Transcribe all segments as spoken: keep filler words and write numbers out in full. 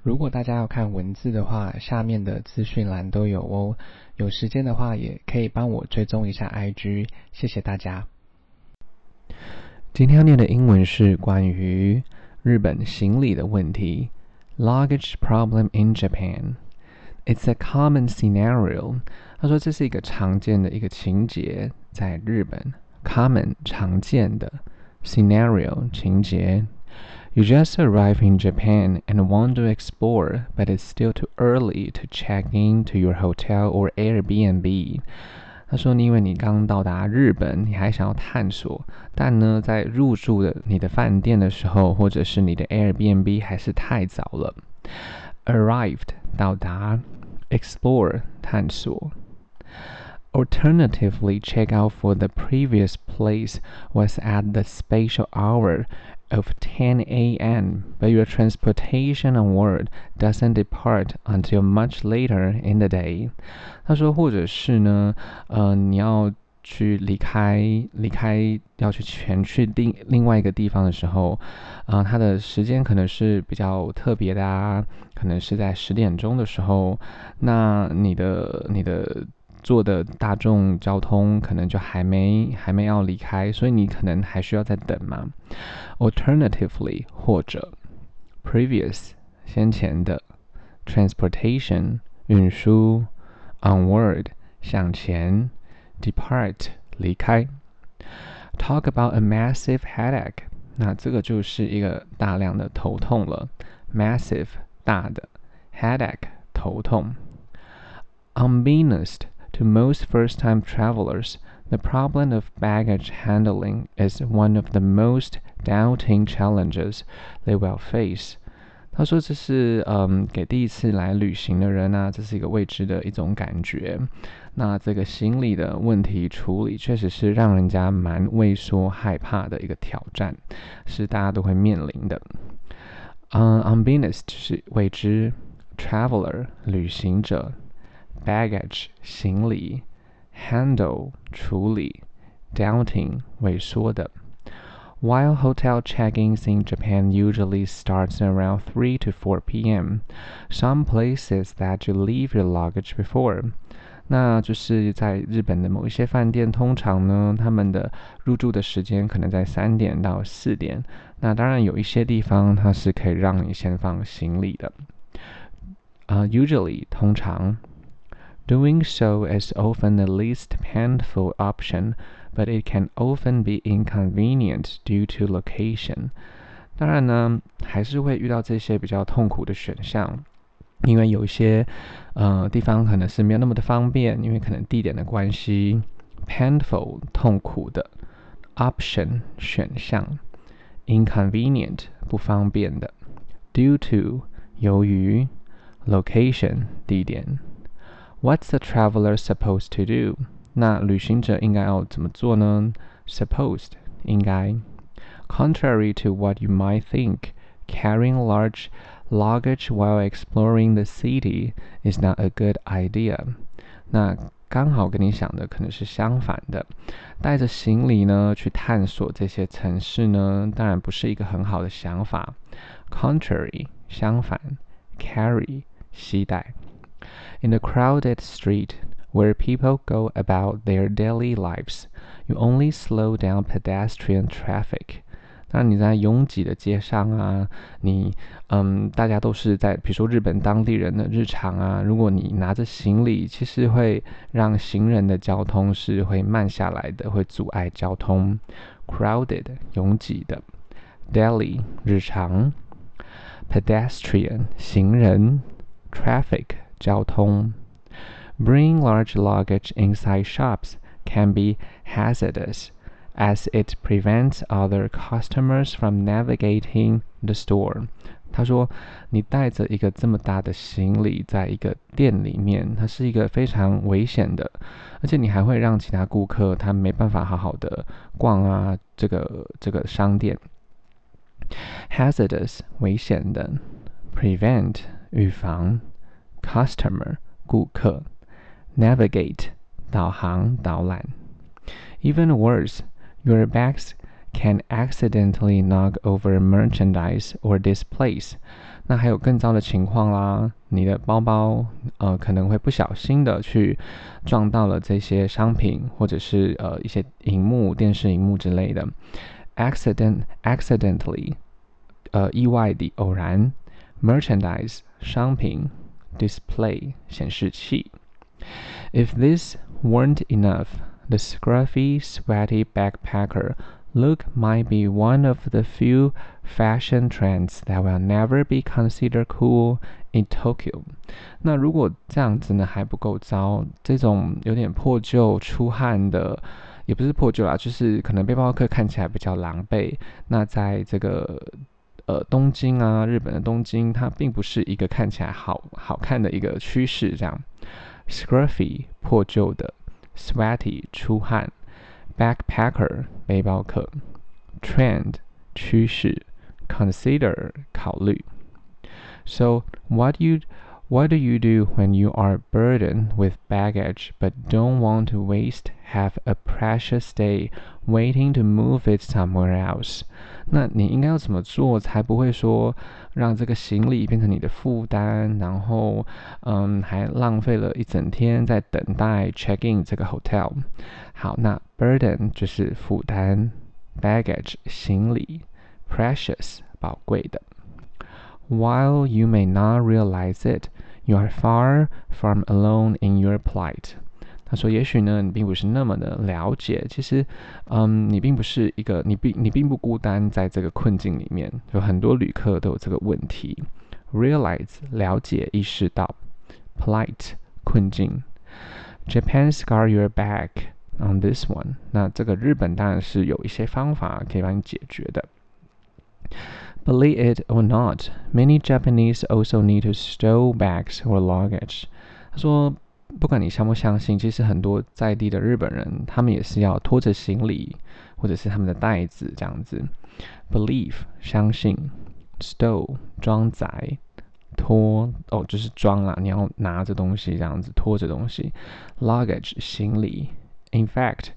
如果大家要看文字的話，下面的資訊欄都有哦。有時間的話，也可以幫我追蹤一下 I G， 謝謝大家。今天要念的英文是關於日本行李的問題。Luggage problem in Japan. It's a common scenario. 他說這是一個常見的一個情節，在日本。Common 常見的 scenario 情節。You just arrived in Japan and want to explore, but it's still too early to check in to your hotel or Airbnb. 他說，因為你剛到達日本，你還想要探索，但呢，在入住的你的飯店的時候，或者是你的 Airbnb 還是太早了。Arrived 到達 ，explore 探索。Alternatively, checkout for the previous place was at the special hour of ten a m, but your transportation onward doesn't depart until much later in the day. 他說，或者是呢，呃，你要去離開，離開要去前去另另外一個地方的時候，呃，它的時間可能是比較特別的啊，可能是在十點鐘的時候，那你的你的。坐的大眾交通可能就還沒還沒要離開，所以你可能還需要再等嘛。Alternatively 或者 previous 先前的 transportation 運輸 onward 向前 depart 離開。Talk about a massive headache， 那這個就是一個大量的頭痛了。Massive 大的 headache 頭痛。Unbeknownst to most first-time travelers, the problem of baggage handling is one of the most daunting challenges they will face. 他說這是嗯給第一次來旅行的人啊，這是一個未知的一種感覺。那這個行李的問題處理確實是讓人家蠻畏縮害怕的一個挑戰，是大家都會面臨的。嗯 unbeknownst 是未知 ，traveler 旅行者。Baggage 行李 handle 處理 daunting 萎縮的。While hotel check-ins in Japan usually starts around three to four p m, some places that you leave your luggage before. 那就是在日本的某一些飯店，通常呢，他們的入住的時間可能在三點到四點。那當然有一些地方它是可以讓你先放行李的。Uh, usually 通常。Doing so is often the least painful option, but it can often be inconvenient due to location. 當然呢，還是會遇到這些比較痛苦的選項，因為有一些呃地方可能是沒有那麼的方便，因為可能地點的關係。Painful 痛苦的 option 選項 ，inconvenient 不方便的 ，due to 由於 location 地點。What's the traveler supposed to do? 那旅行者應該要怎麼做呢？ Supposed 應該。Contrary to what you might think, carrying large luggage while exploring the city is not a good idea. 那剛好跟你想的可能是相反的，帶着行李呢去探索這些城市呢，當然不是一個很好的想法。Contrary 相反 ，carry 攜帶。In the crowded street, where people go about their daily lives, you only slow down pedestrian traffic. 當然你在擁擠的街上啊，你嗯，大家都是在，比如說日本當地人的日常啊，如果你拿着行李，其實會讓行人的交通是會慢下來的，會阻礙交通。Crowded 擁擠的 ，daily 日常 ，pedestrian 行人 ，traffic 交通。Bringing large luggage inside shops can be hazardous, as it prevents other customers from navigating the store. 他說，你帶着一個這麼大的行李在一個店裡面，它是一個非常危險的，而且你還會讓其他顧客他沒辦法好好的逛啊，這個這個商店。Hazardous 危險的 ，prevent 預防 ，customer 顧客 ，navigate 導航導覽。Even worse, your bags can accidentally knock over merchandise or displays. 那還有更糟的情況啦，你的包包呃可能會不小心的去撞到了這些商品，或者是呃一些熒幕、電視熒幕之類的。accident accidentally 呃意外的偶然。merchandise 商品。display 顯示器。If this weren't enough, the scruffy, sweaty backpacker look might be one of the few fashion trends that will never be considered cool in Tokyo. 那如果這樣子呢還不夠糟，這種有點破舊出汗的，也不是破舊啦，就是可能背包客看起來比較狼狽。那在這個呃東京啊，日本的東京，它並不是一個看起來好好看的一個趨勢，這樣。Scruffy 破舊的 ，sweaty 出汗 ，backpacker 背包客 ，trend 趨勢 ，consider 考慮。So what you what do you do when you are burdened with baggage but don't want to waste half a precious day waiting to move it somewhere else? 那你應該要怎麼做才不會說讓這個行李變成你的負擔，然後嗯還浪費了一整天在等待 check in 這個 hotel？ 好，那 burden 就是負擔 ，baggage 行李 ，precious 寶貴的。While you may not realize it, you are far from alone in your plight. 他說：“也許呢，你並不是那麼的了解。其實，嗯，你並不是一個，你並你並不孤單在這個困境裡面。有很多旅客都有這個問題。Realize 了解意識到 ，plight 困境。Japan's got your back on this one. 那這個日本當然是有一些方法可以幫你解決的。Believe it or not, many Japanese also need to stow bags or luggage. 他說。”不管你相不相信，其實很多在地的日本人，他們也是要拖着行李，或者是他們的袋子這樣子。Believe 相信 ，stow 裝載，拖哦就是裝啦，你要拿着東西這樣子，拖着東西。Luggage 行李。In fact,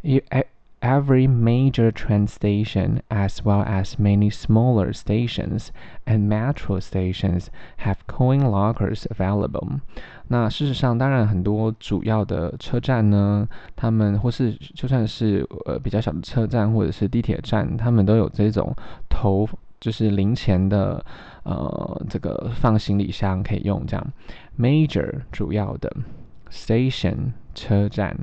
every major train station, as well as many smaller stations and metro stations, have coin lockers available. 那事實上，當然很多主要的車站呢，他們或是就算是呃比較小的車站或者是地鐵站，他們都有這種投就是零錢的呃這個放行李箱可以用這樣。Major 主要的 station 車站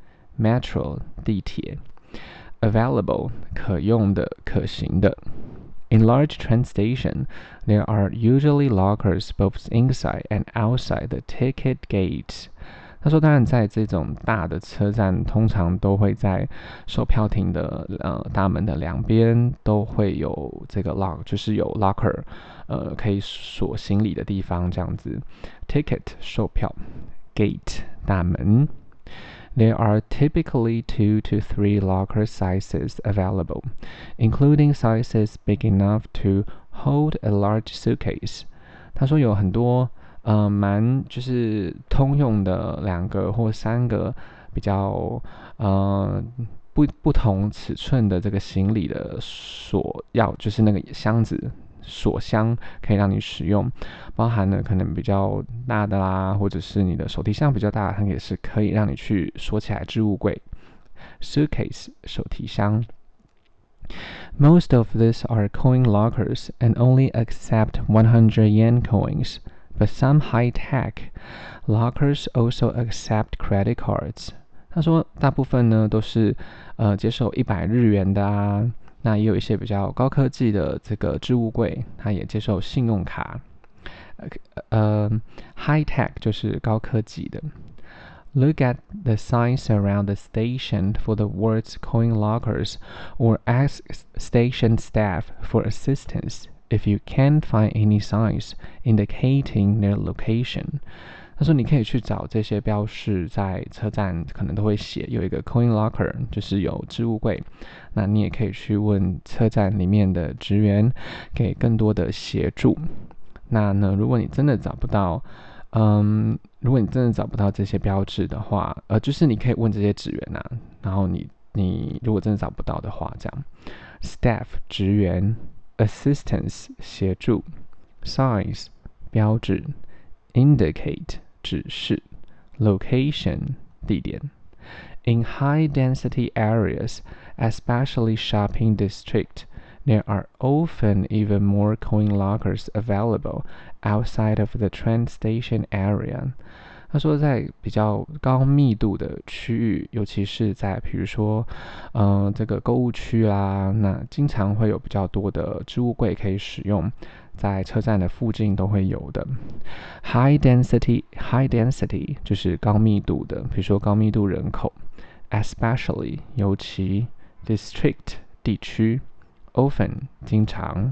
metro 地鐵。Available 可用的、可行的。In large train station, there are usually lockers both inside and outside the ticket gate. 他說，當然在這種大的車站，通常都會在售票亭的呃大門的兩邊都會有這個 lock， 就是有 locker， 呃可以鎖行李的地方這樣子。Ticket 售票 ，gate 大門。There are typically two to three locker sizes available, including sizes big enough to hold a large suitcase. 他說有很多呃蠻就是通用的兩個或三個比較呃不不同尺寸的這個行李的鎖鑰，就是那個箱子。鎖箱可以讓你使用，包含了可能比較大的啦，或者是你的手提箱比較大，它也是可以讓你去鎖起來置物櫃。Suitcase 手提箱。Most of these are coin lockers and only accept one hundred yen coins, but some high-tech lockers also accept credit cards. 他說大部分呢都是呃接受一百日元的啊。那也有一些比較高科技的這個置物櫃，它也接受信用卡。呃 ，high tech 就是高科技的。Look at the signs around the station for the words coin lockers, or ask station staff for assistance if you can't find any signs indicating their location. 他說：“你可以去找這些標示，在車站可能都會寫有一個 coin locker， 就是有置物櫃。那你也可以去問車站裡面的職員，給更多的協助。那呢，如果你真的找不到，嗯，如果你真的找不到這些標誌的話，呃，就是你可以問這些職員啊。然後你你如果真的找不到的話，這樣 staff 職員 assistance 協助 signs 標誌 indicate 指示 location 地點。In high-density areas, especially shopping districts, there are often even more coin lockers available outside of the train station area. 他說，在比較高密度的區域，尤其是在比如說，呃，這個購物區啦，那經常會有比較多的置物櫃可以使用，在車站的附近都會有的。High density, high density 就是高密度的，比如說高密度人口。Especially 尤其 district 地區 often 經常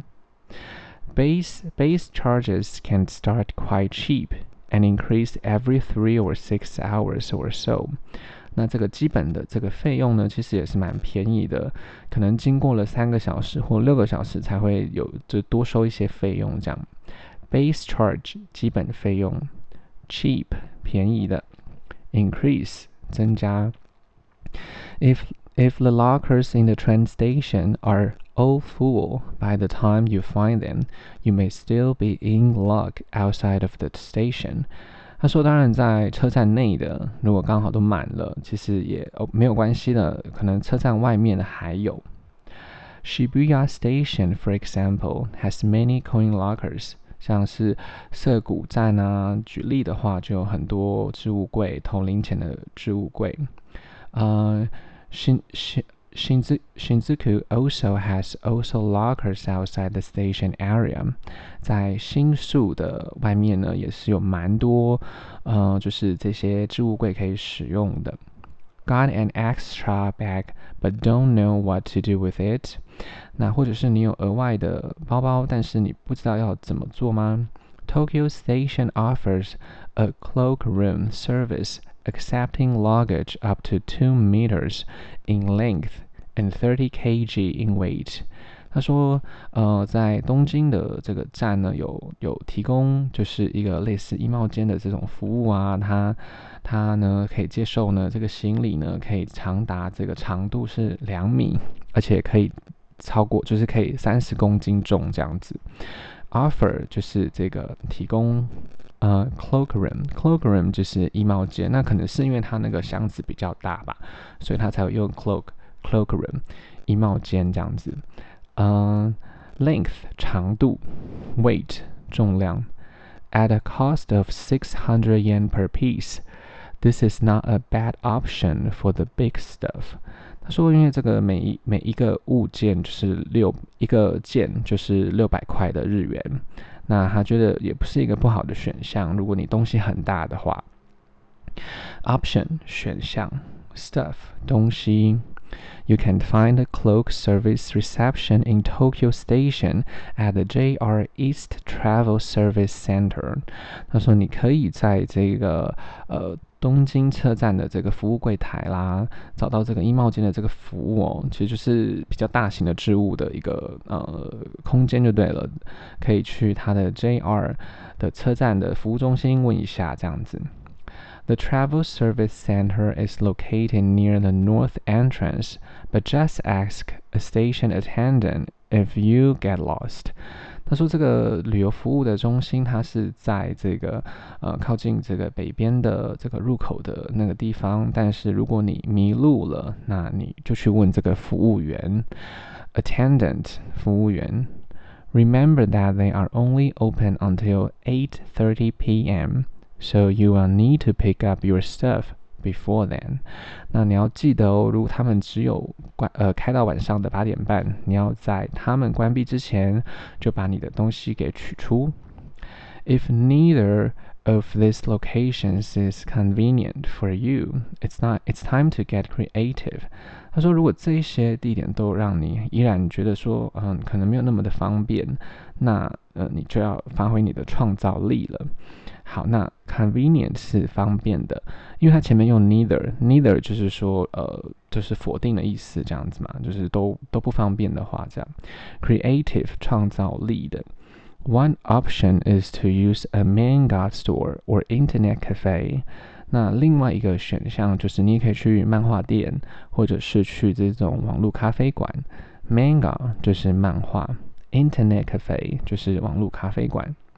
base base charges can start quite cheap and increase every three or six hours or so。 那這個基本的這個費用呢，其實也是蠻便宜的，可能經過了三個小時或六個小時才會有就多收一些費用這樣。Base charge 基本費用 cheap 便宜的 increase 增加。If if the lockers in the train station are all full by the time you find them, you may still be in luck outside of the station. 他說，當然在車站內的，如果剛好都滿了，其實也哦沒有關係的，可能車站外面的還有。Shibuya Station, for example, has many coin lockers. 像是澀谷站啊，舉例的話，就有很多置物櫃，投零錢的置物櫃。Uh, Shin, Shin, Shinzu, Shinjuku also has also lockers outside the station area. 在新宿的外面呢，也是有蠻多，呃，就是這些置物櫃可以使用的。Got an extra bag, but don't know what to do with it. 那或者是你有額外的包包，但是你不知道要怎麼做嗎？ Tokyo Station offers a cloakroom service.Accepting luggage up to two meters in length and thirty kilograms in weight. 他說，呃，在東京的這個站呢，有有提供就是一個類似衣帽間的這種服務啊，它它呢可以接受呢這個行李呢可以長達這個長度是兩米，而且可以超過就是可以三十公斤重這樣子。Offer 就是這個提供。呃、uh, cloakroom cloakroom 就是衣帽間，那可能是因為它那個箱子比較大吧，所以它才有用 cloak cloakroom 衣帽間這樣子。嗯、uh, length 長度 weight 重量 at a cost of six hundred yen per piece. This is not a bad option for the big stuff. 他說，因為這個每一每一個物件就是六一個件就是六百塊的日元。那他覺得也不是一個不好的選項，如果你東西很大的話。Option 選項 Stuff 東西 You can find a cloak service reception in Tokyo Station at the J R East Travel Service Center. 他說你可以在這個呃東京車站的這個服務櫃台啦，找到這個衣帽間的這個服務哦，其實就是比較大型的置物的一個呃空間就對了，可以去它的 J R 的車站的服務中心問一下這樣子。The Travel Service Center is located near the north entrance, but just ask a station attendant if you get lost. 他說這個旅遊服務的中心，它是在這個呃靠近這個北邊的這個入口的那個地方，但是如果你迷路了，那你就去問這個服務員 ，attendant 服務員。Remember that they are only open until eight thirty p m.So you will need to pick up your stuff before then. 那你要記得哦，如果他們只有關呃開到晚上的八點半，你要在他們關閉之前就把你的東西給取出。If neither of these locations is convenient for you, it's not. It's time to get creative. 他說，如果這些地點都讓你依然覺得說，嗯，可能沒有那麼的方便，那呃，你就要發揮你的創造力了。好，那 convenient 是方便的，因為它前面用 neither，neither 就是說，呃，就是否定的意思，這樣子嘛，就是都都不方便的話，這樣。Creative 創造力的。One option is to use a manga store or internet cafe. 那另外一個選項就是你可以去漫畫店，或者是去這種網絡咖啡館。Manga 就是漫畫 ，Internet cafe 就是網絡咖啡館。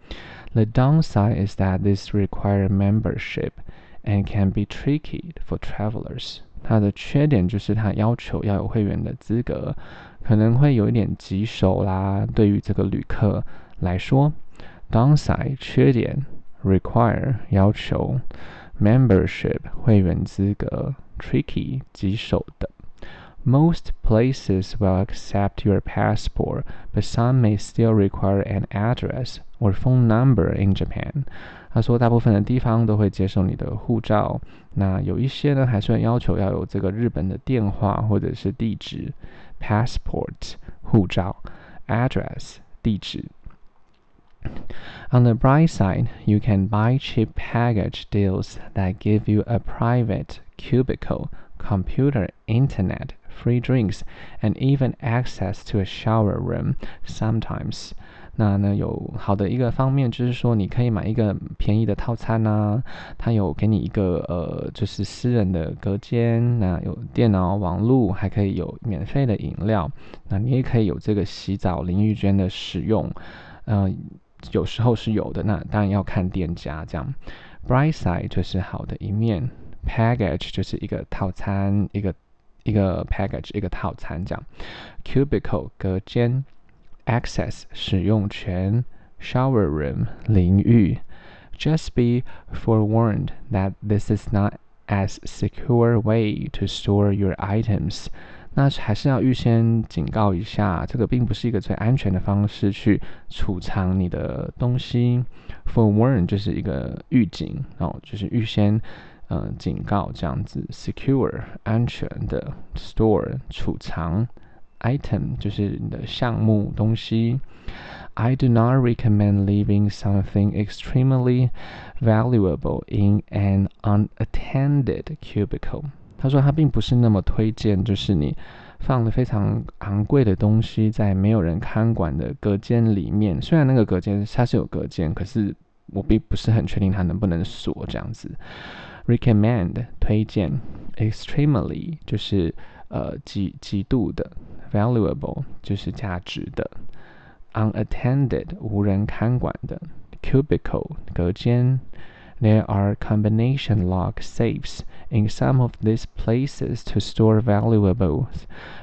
The downside is that this requires membership and can be tricky for travelers. 它的缺點就是它要求要有會員的資格，可能會有一點棘手啦。對於這個旅客來說 ，downside 缺點 require 要求 membership 會員資格 tricky 棘手的。Most places will accept your passport, but some may still require an address or phone number in Japan. 他說，大部分的地方都會接受你的護照，那有一些呢，還是會要求要有這個日本的電話或者是地址 ，passport 護照 ，address 地址。On the bright side, you can buy cheap package deals that give you a private cubicle, computer, internet, free drinks, and even access to a shower room sometimes. 那呢，有好的一個方面就是說，你可以買一個便宜的套餐啊，它有給你一個呃，就是私人的隔間，那有電腦、網絡，還可以有免費的飲料，那你也可以有這個洗澡淋浴間的使用，呃，有時候是有的，那當然要看店家這樣。Bright side 就是好的一面 ，package 就是一個套餐，一個一個 package 一個套餐這樣 ，cubicle 隔間 ，access 使用權 ，shower room 淋浴。Just be forewarned that this is not as secure way to store your items. 那還是要預先警告一下，這個並不是一個最安全的方式去儲藏你的東西。Forewarn 就是一個預警哦，就是預先呃警告這樣子。Secure 安全的 ，store 儲藏 ，item 就是你的項目東西。I do not recommend leaving something extremely valuable in an unattended cubicle. 他說他並不是那麼推薦，就是你放了非常昂貴的東西在沒有人看管的隔間裡面。雖然那個隔間它是有隔間，可是我並不是很確定它能不能鎖這樣子。Recommend 推薦 ，extremely 就是呃極極度的 ，valuable 就是價值的 ，unattended 無人看管的 ，cubicle 隔間。There are combination lock safes in some of these places to store valuables,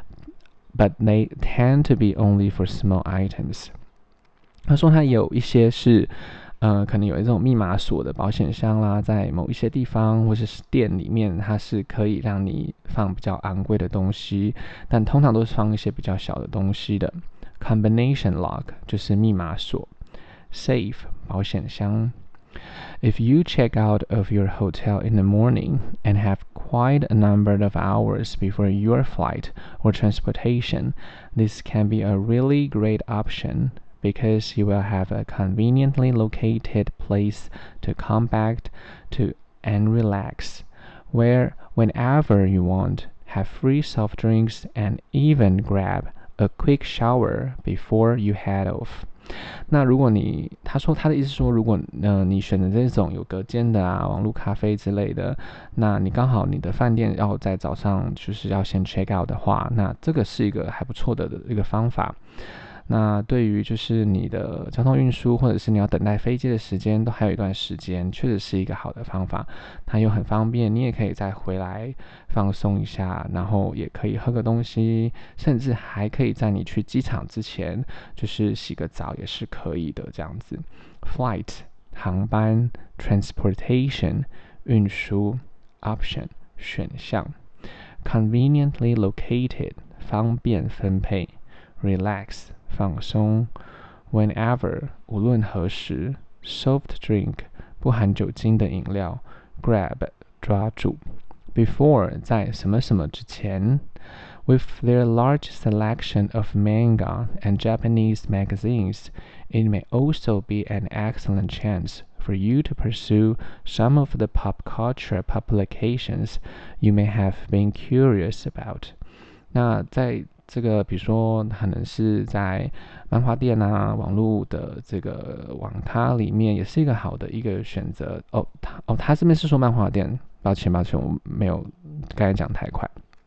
but they tend to be only for small items. 他說他有一些是，呃，可能有一種密碼鎖的保險箱啦，在某一些地方或者是店裡面，它是可以讓你放比較昂貴的東西，但通常都是放一些比較小的東西的。Combination lock 就是密碼鎖 ，safe 保險箱。If you check out of your hotel in the morning and have quite a number of hours before your flight or transportation, this can be a really great option because you will have a conveniently located place to come back to and relax, where whenever you want, have free soft drinks and even grab a quick shower before you head off. 那如果你，他說他的意思說，如果呃你選擇這種有隔間的啊，網絡咖啡之類的，那你剛好你的飯店要在早上就是要先 check out 的話，那這個是一個還不錯的一個方法。那對於就是你的交通運輸或者是你要等待飛機的時間，都還有一段時間，確實是一個好的方法。它又很方便，你也可以再回來放鬆一下，然後也可以喝個東西，甚至還可以在你去機場之前，就是洗個澡也是可以的這樣子。Flight 航班 ，transportation 運輸 ，option 選項 ，conveniently located 方便分配 ，relax 放鬆 ，whenever 無論何時 ，soft drink 不含酒精的飲料 ，grab 抓住 ，before 在什麼什麼之前 ，with their large selection of manga and Japanese magazines, it may also be an excellent chance for you to pursue some of the pop culture publications you may have been curious about. 那在這個比如說可能是在漫畫店啊、網絡的這個網咖裡面，也是一個好的一個選擇哦。他哦，他這邊是說漫畫店，抱歉抱歉，我沒有剛才講太快。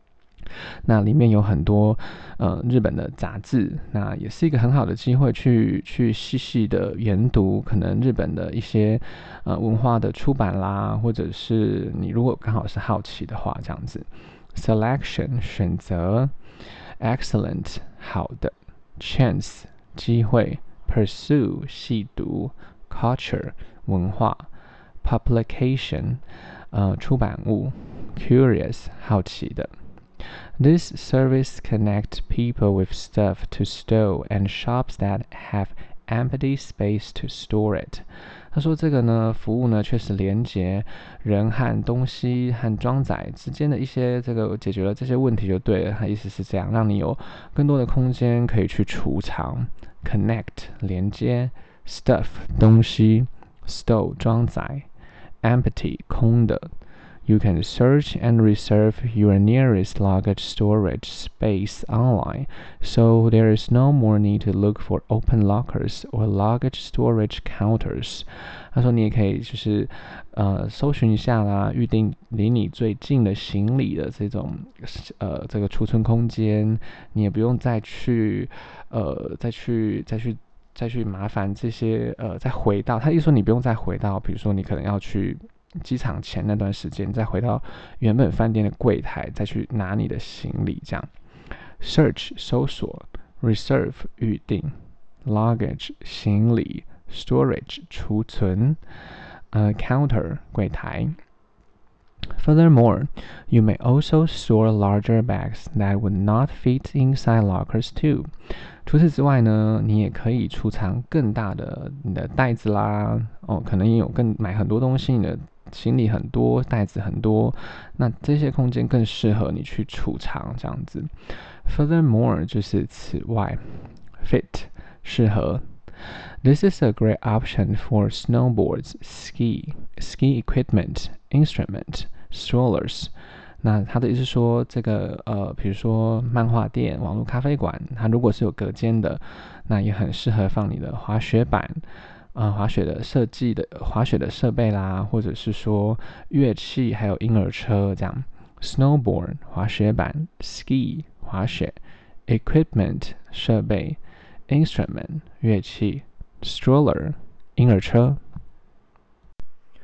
那裡面有很多呃日本的雜誌，那也是一個很好的機會去去細細的研讀可能日本的一些呃文化的出版啦，或者是你如果剛好是好奇的話，這樣子。Selection 選擇 ，excellent 好的 ，chance 機會 ，pursue 細讀 ，culture 文化 ，publication 呃出版物 ，curious 好奇的。This service connects people with stuff to store and shops that have empty space to store it. 他說這個呢，服務呢確實連接人和東西和裝載之間的一些這個解決了這些問題就對了。他意思是這樣，讓你有更多的空間可以去儲藏。Connect 連接 stuff 東西 store 裝載 empty 空的。You can search and reserve your nearest luggage storage space online, so there is no more need to look for open lockers or luggage storage counters. 他說你也可以就是呃搜尋一下啦，預定離你最近的行李的這種呃這個儲存空間，你也不用再去呃再去再去再去麻煩這些呃再回到，他意思說你不用再回到，比如說你可能要去機場前那段時間，再回到原本飯店的櫃檯，再去拿你的行李，這樣。Search 搜索 ，Reserve 預定 ，Luggage 行李 ，Storage 儲存，呃 ，Counter 櫃檯。Furthermore, you may also store larger bags that would not fit inside lockers too. 除此之外呢，你也可以儲藏更大的你的袋子啦，哦，可能也有更買很多東西，你的行李很多，袋子很多，那這些空間更適合你去儲藏這樣子。Furthermore 就是此外 ，fit 適合。This is a great option for snowboards, ski, ski equipment, instrument, strollers. 那他的意思是說，這個呃，比如說漫畫店、網絡咖啡館，它如果是有隔間的，那也很適合放你的滑雪板。呃，滑雪的設計的滑雪的設備啦，或者是說樂器，還有嬰兒車這樣。Snowboard 滑雪板 ，ski 滑雪 ，equipment 設備 ，instrument 樂器 ，stroller 嬰兒車。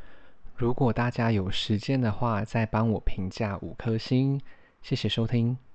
如果大家有時間的話，再幫我評價五顆星，謝謝收聽。